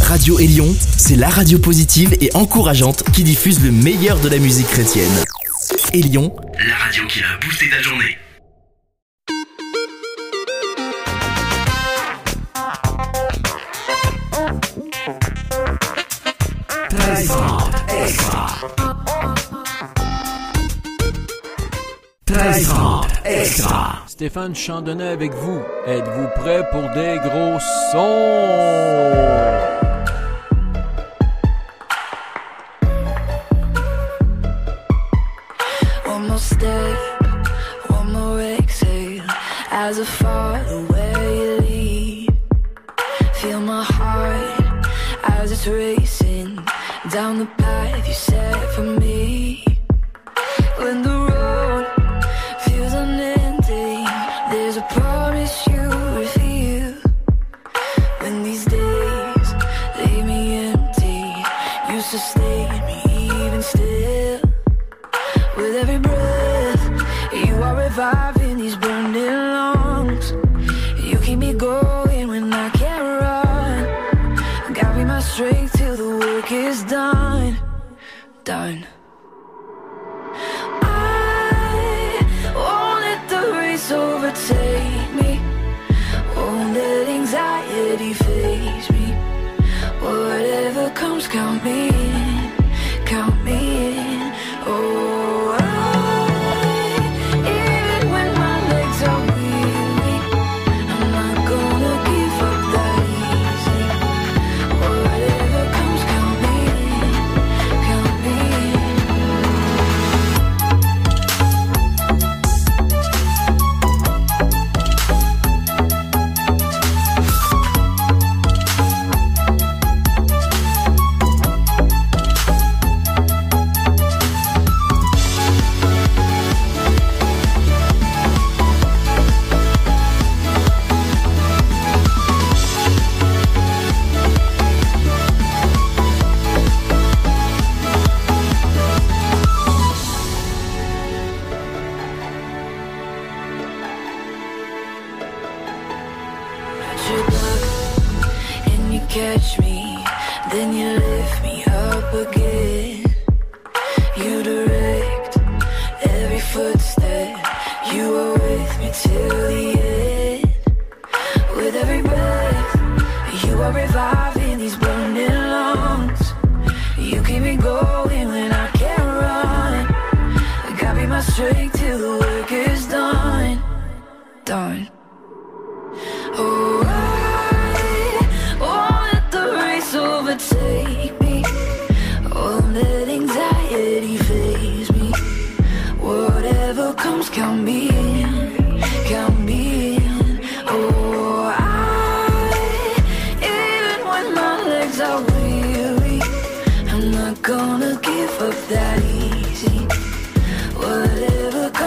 Radio Élion, c'est la radio positive et encourageante qui diffuse le meilleur de la musique chrétienne. Élion, la radio qui a boosté ta journée. Extra. Stéphane Chandonnet avec vous. Êtes-vous prêts pour des gros sons? One more step, one more exhale, as I follow where you lead. Feel my heart as it's racing down the path you set for me. When the road feels unending, there's a promise you reveal. When these days leave me empty, you sustain me even still. With every breath, you are reviving these burning lungs. You keep me going when I can't run. Guide me my strength till the work is done. Done. Overtake me, won't let anxiety faze me. Whatever comes, count me in, count me in. Oh, even when my legs are weary, I'm not gonna give up that easy. Whatever comes, count me in, count me in. Catch me, then you lift me up again. You direct every footstep, you are with me till the end. With every breath, you are reviving these burning lungs. You keep me going when I can't run. Got me my strength till the work is done. Done. Oh, overtake me, won't let anxiety faze me. Whatever comes, count me in, count me in. Oh, even when my legs are weary, I'm not gonna give up that easy. Whatever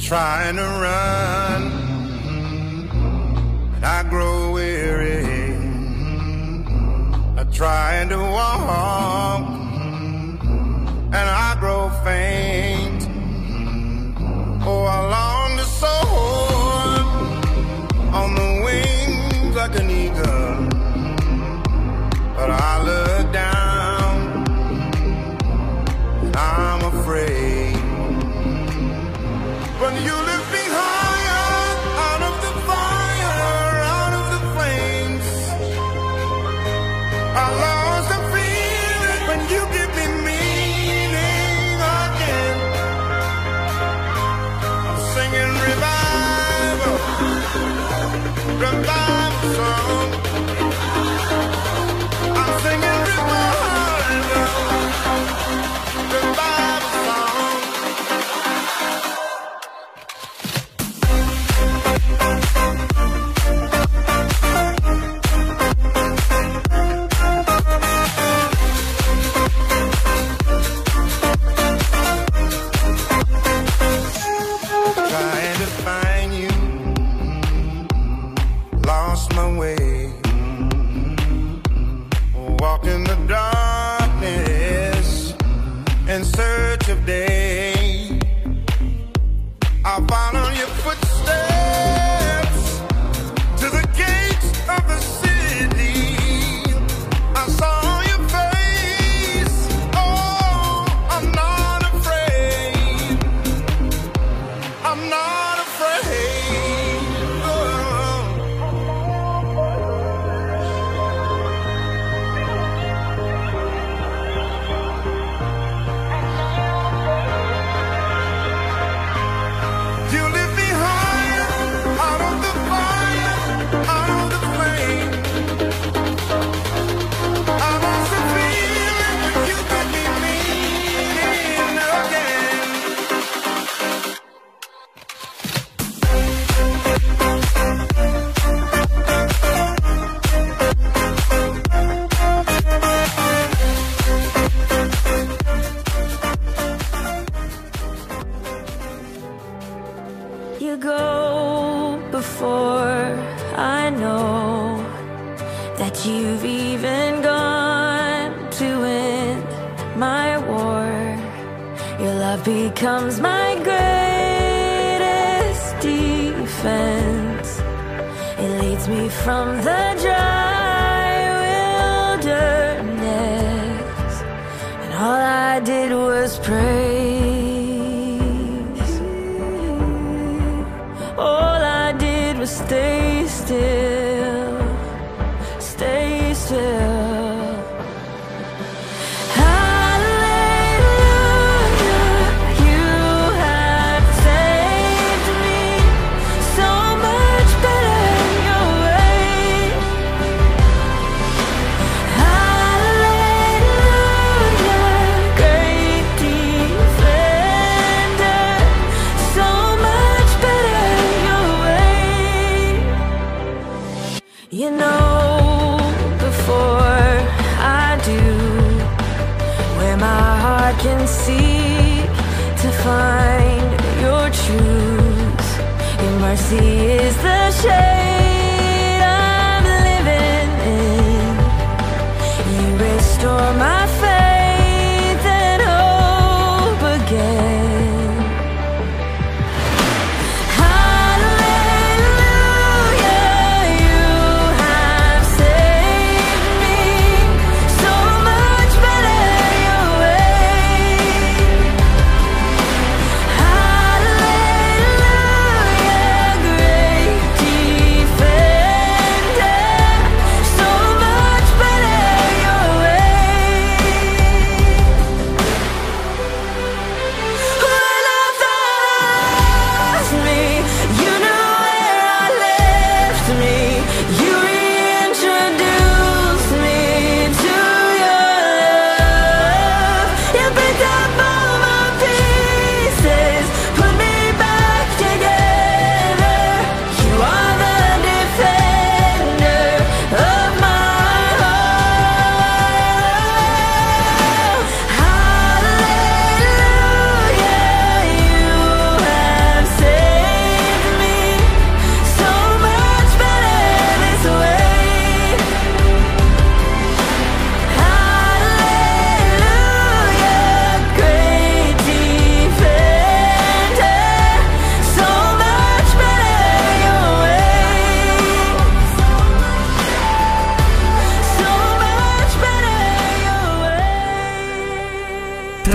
trying to run, and I grow weary. I'm trying to walk, and I grow faint. Oh, I long to soar on the wings like an eagle, but I look down, and I'm afraid. When you lift me higher, out of the fire, out of the flames, I lost the feeling when you give me meaning again. I'm singing revival, revival song. I'm singing revival, revival song. Trying to find you, lost my way, walking the darkness in search of day. I follow your footsteps to the gates of the city. I saw your face, oh, I'm not afraid. I'm not afraid. Oh. You lift me higher, out of the fire, out of the flame. I lost the feeling when you got me meaning again. You go before I know that you've even gone to end my war. Your love becomes my greatest defense. It leads me from the dry wilderness, and all I did was praise. All I did was stay still, stay still. Hallelujah, you have saved me so much better your way. Hallelujah, great defender, so much better your way. You know before I do where my heart can seek to find your truth. Your mercy is the shade I'm living in. You restore my faith and hope again. Hallelujah, you have saved me so much better your way. Hallelujah, great defender.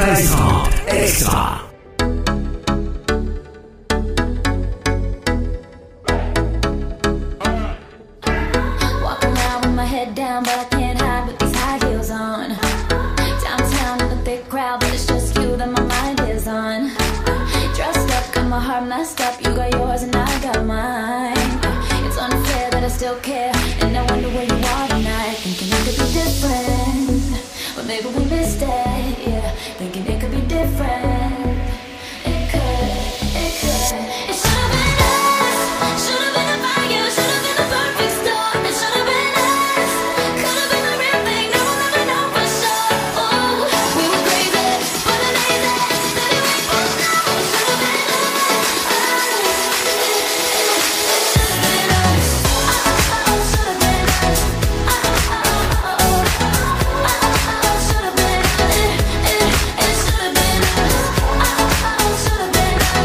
Extra, extra. Walk around with my head down, but I can't hide with these high heels on. Downtown in a thick crowd, but it's just you that my mind is on. Dressed up, got my heart messed up. You got yours and I got mine. It's unfair that I still care, and I wonder where you are tonight. Thinking it could be different, but maybe we missed it. Yeah, thinking it could be different. It could, it could. It should have been us. Should have been the fire. Should have been the perfect storm. It should have been us. Could have been the real thing. Now we'll never know for sure. Ooh, we were crazy, but amazing. Baby, we both know it should have been us. Should have been us. Should have been us. It should have been us. Should have been us.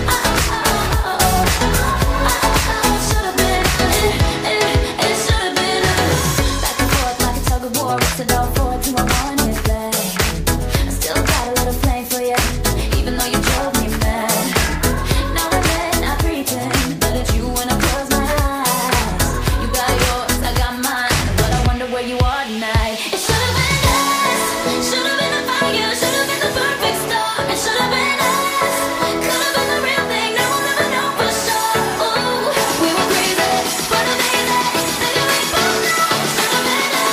Should have been it should have been us. Back and forth like a tug of war. It's it all forward to a one-hit play. I still got a little flame for you, even though you drove me mad. Now and then I pretend that it's you when I close my eyes. You got yours, I got mine, but I wonder where you are tonight. It should have been us. Should have been the fire. Should have been the perfect storm. It should have been us. Could have been the real thing. Now we'll never know for sure. Ooh, we were crazy, but amazing. Baby, we both know it should have been us.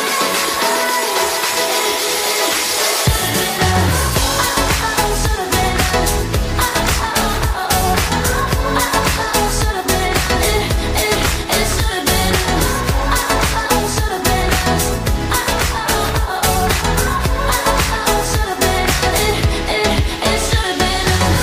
Should have been us. Should have been it should have been us. Should have been us. Should have been it should have been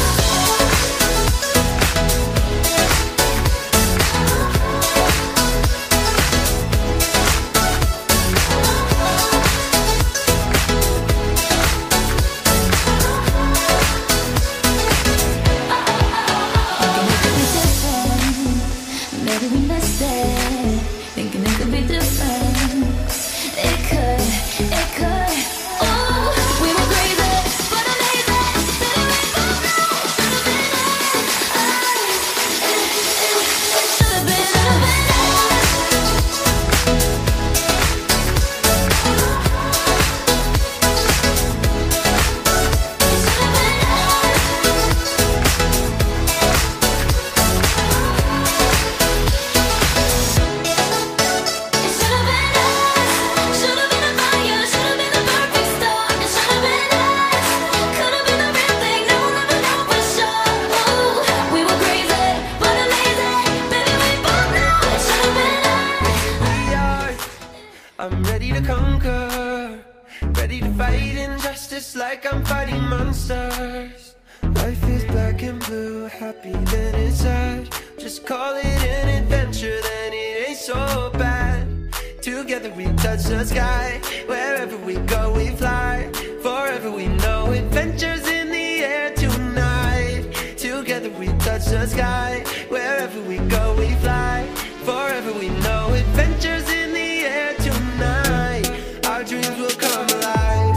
Maybe we missed it. Thinking it could be different. It could, it could. Ooh, we were crazy, but amazing. Baby, we both know it should have been us. It should have been us. I'm ready to conquer, ready to fight injustice like I'm fighting monsters. Life is black and blue, happy then it's sad. Just call it an adventure, then it ain't so bad. Together we touch the sky, wherever we go we fly. Forever we know adventures in the air tonight. Together we touch the sky, wherever we go we fly. Forever we know adventures in the air tonight. Our dreams will come alive.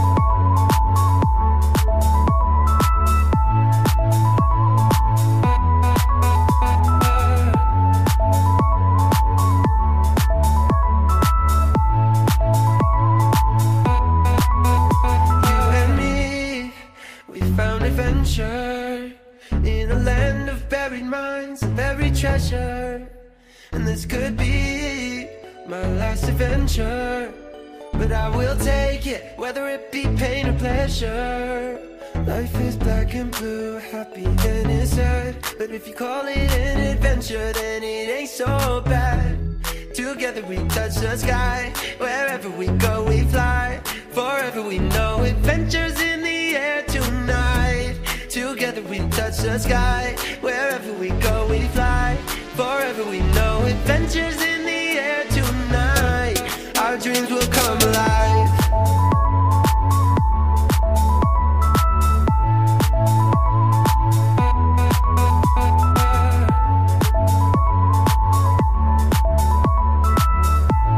You and me, we found adventure in a land of buried minds and buried treasure. And this could be my last adventure, but I will take it, whether it be pain or pleasure. Life is black and blue, happy then it's sad. But if you call it an adventure, then it ain't so bad. Together we touch the sky, wherever we go we fly. Forever we know adventures in the air tonight. Together we touch the sky, wherever we go we fly. Forever we know adventures in the air tonight. Our dreams will come alive.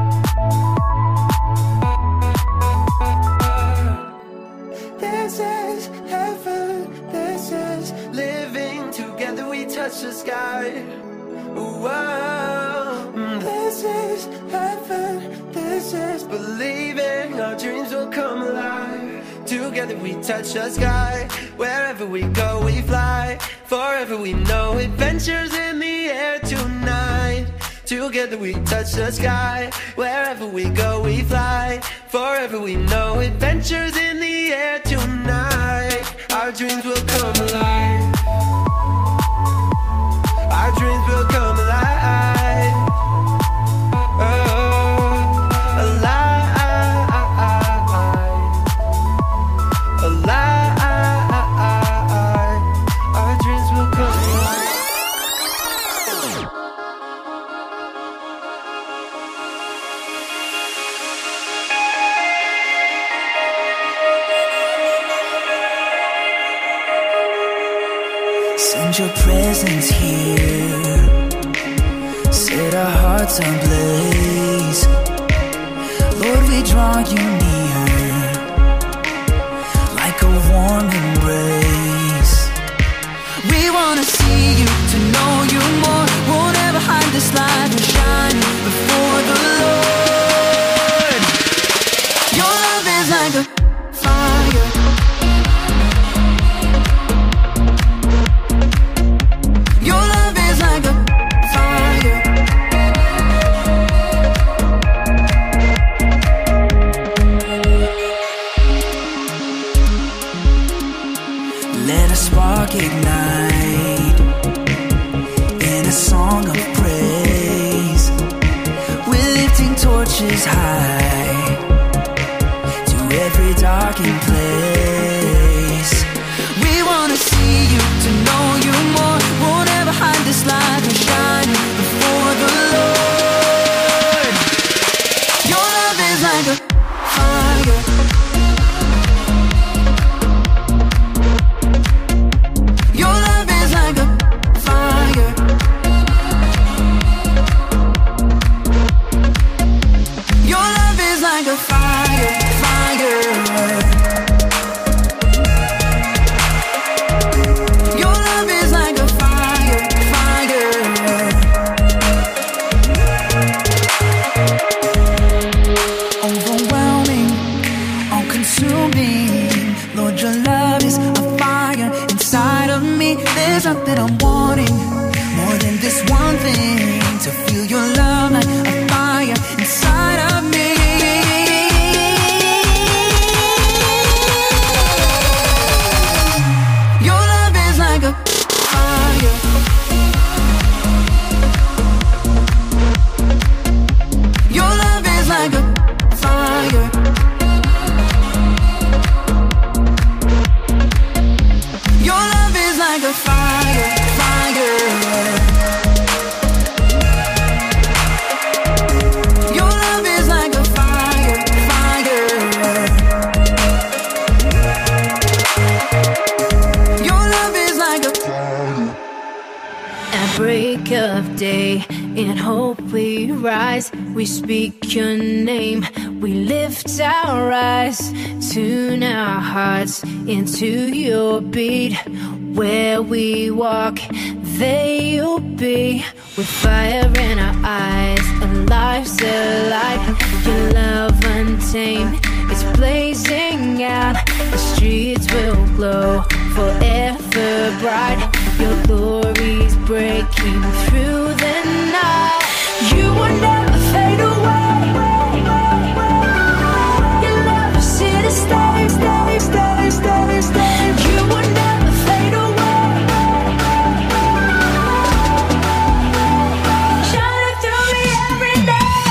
There's a touch the sky. Whoa. This is heaven, this is believing our dreams will come alive. Together we touch the sky. Wherever we go we fly. Forever we know adventures in the air tonight. Together we touch the sky. Wherever we go we fly. Forever we know adventures in the air tonight. Our dreams will come alive. Our dreams will come alive. Oh, alive. Alive. Our dreams will come alive. Send your presence here, set our hearts ablaze. Lord, we draw you near, like a warm embrace. We wanna see you, to know you more. Won't ever hide this light and shine before the Lord. Your love is like a fire. Ignite in a song of praise. We're lifting torches high to every darkened place. We wanna see you, to know you more. Won't ever hide this light and shine before the Lord. Your love is like a fire. There's nothing I'm wanting more than this one thing, to feel your love like a fire inside of me. Your love is like a fire. Your love is like a fire. Your love is like a fire, fire. Your love is like a fire, fire. Your love is like a fire. At break of day, in hope we rise. We speak your name, we lift our eyes. Tune our hearts into your beat. Where we walk, there you'll be. With fire in our eyes, and life's alive. Your love untamed, it's blazing out. The streets will glow forever bright. Your glory's breaking through the night. You will never fade away. Your love is here to stay, stay, stay, stay, stay. You will never fade away. Shining through me every day.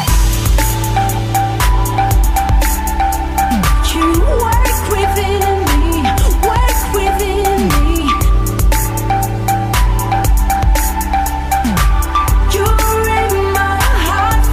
You work within me, work within me. You're in my heart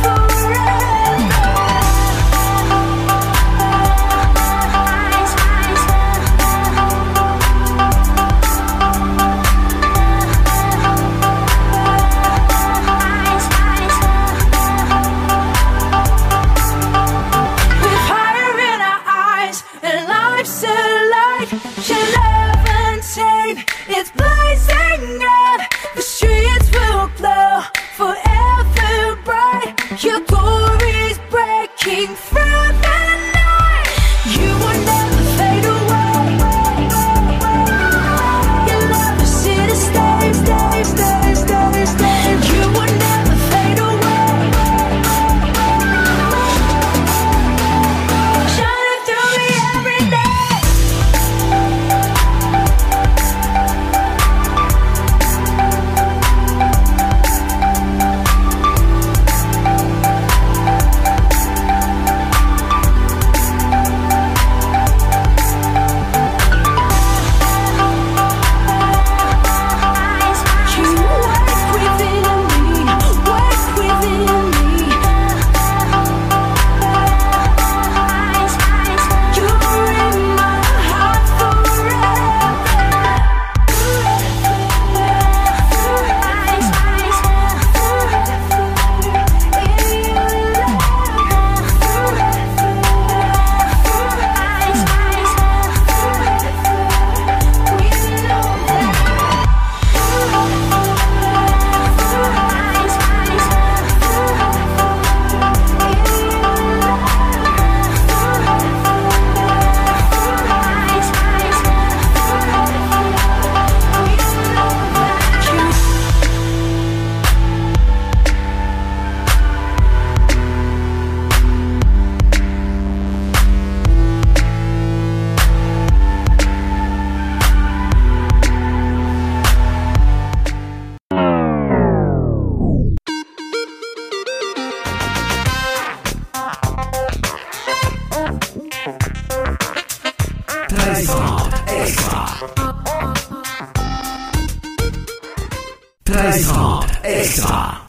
Extra. 13h30 Extra.